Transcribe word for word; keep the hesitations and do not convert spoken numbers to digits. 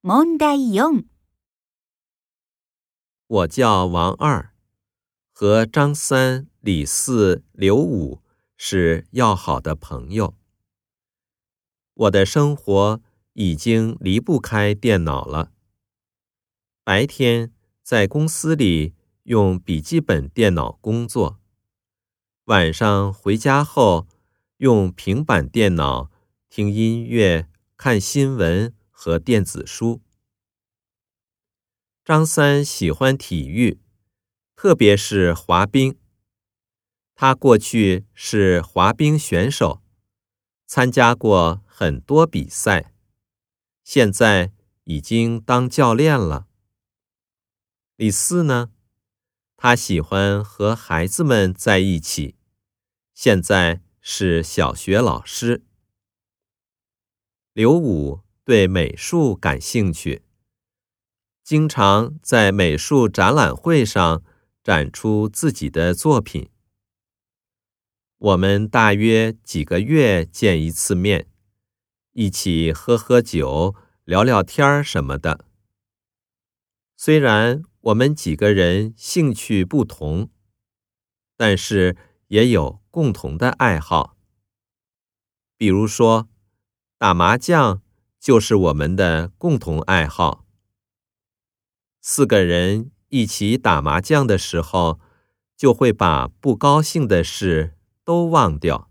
問題四。 我叫王二，和张三、李四、刘五是要好的朋友。我的生活已经离不开电脑了。白天在公司里用笔记本电脑工作，晚上回家后用平板电脑听音乐、看新闻和电子书。张三喜欢体育，特别是滑冰。他过去是滑冰选手，参加过很多比赛，现在已经当教练了。李四呢？他喜欢和孩子们在一起，现在是小学老师。刘五对美术感兴趣，经常在美术展览会上展出自己的作品。我们大约几个月见一次面，一起喝喝酒、聊聊天什么的。虽然我们几个人兴趣不同，但是也有共同的爱好。比如说，打麻将就是我们的共同爱好。四个人一起打麻将的时候，就会把不高兴的事都忘掉。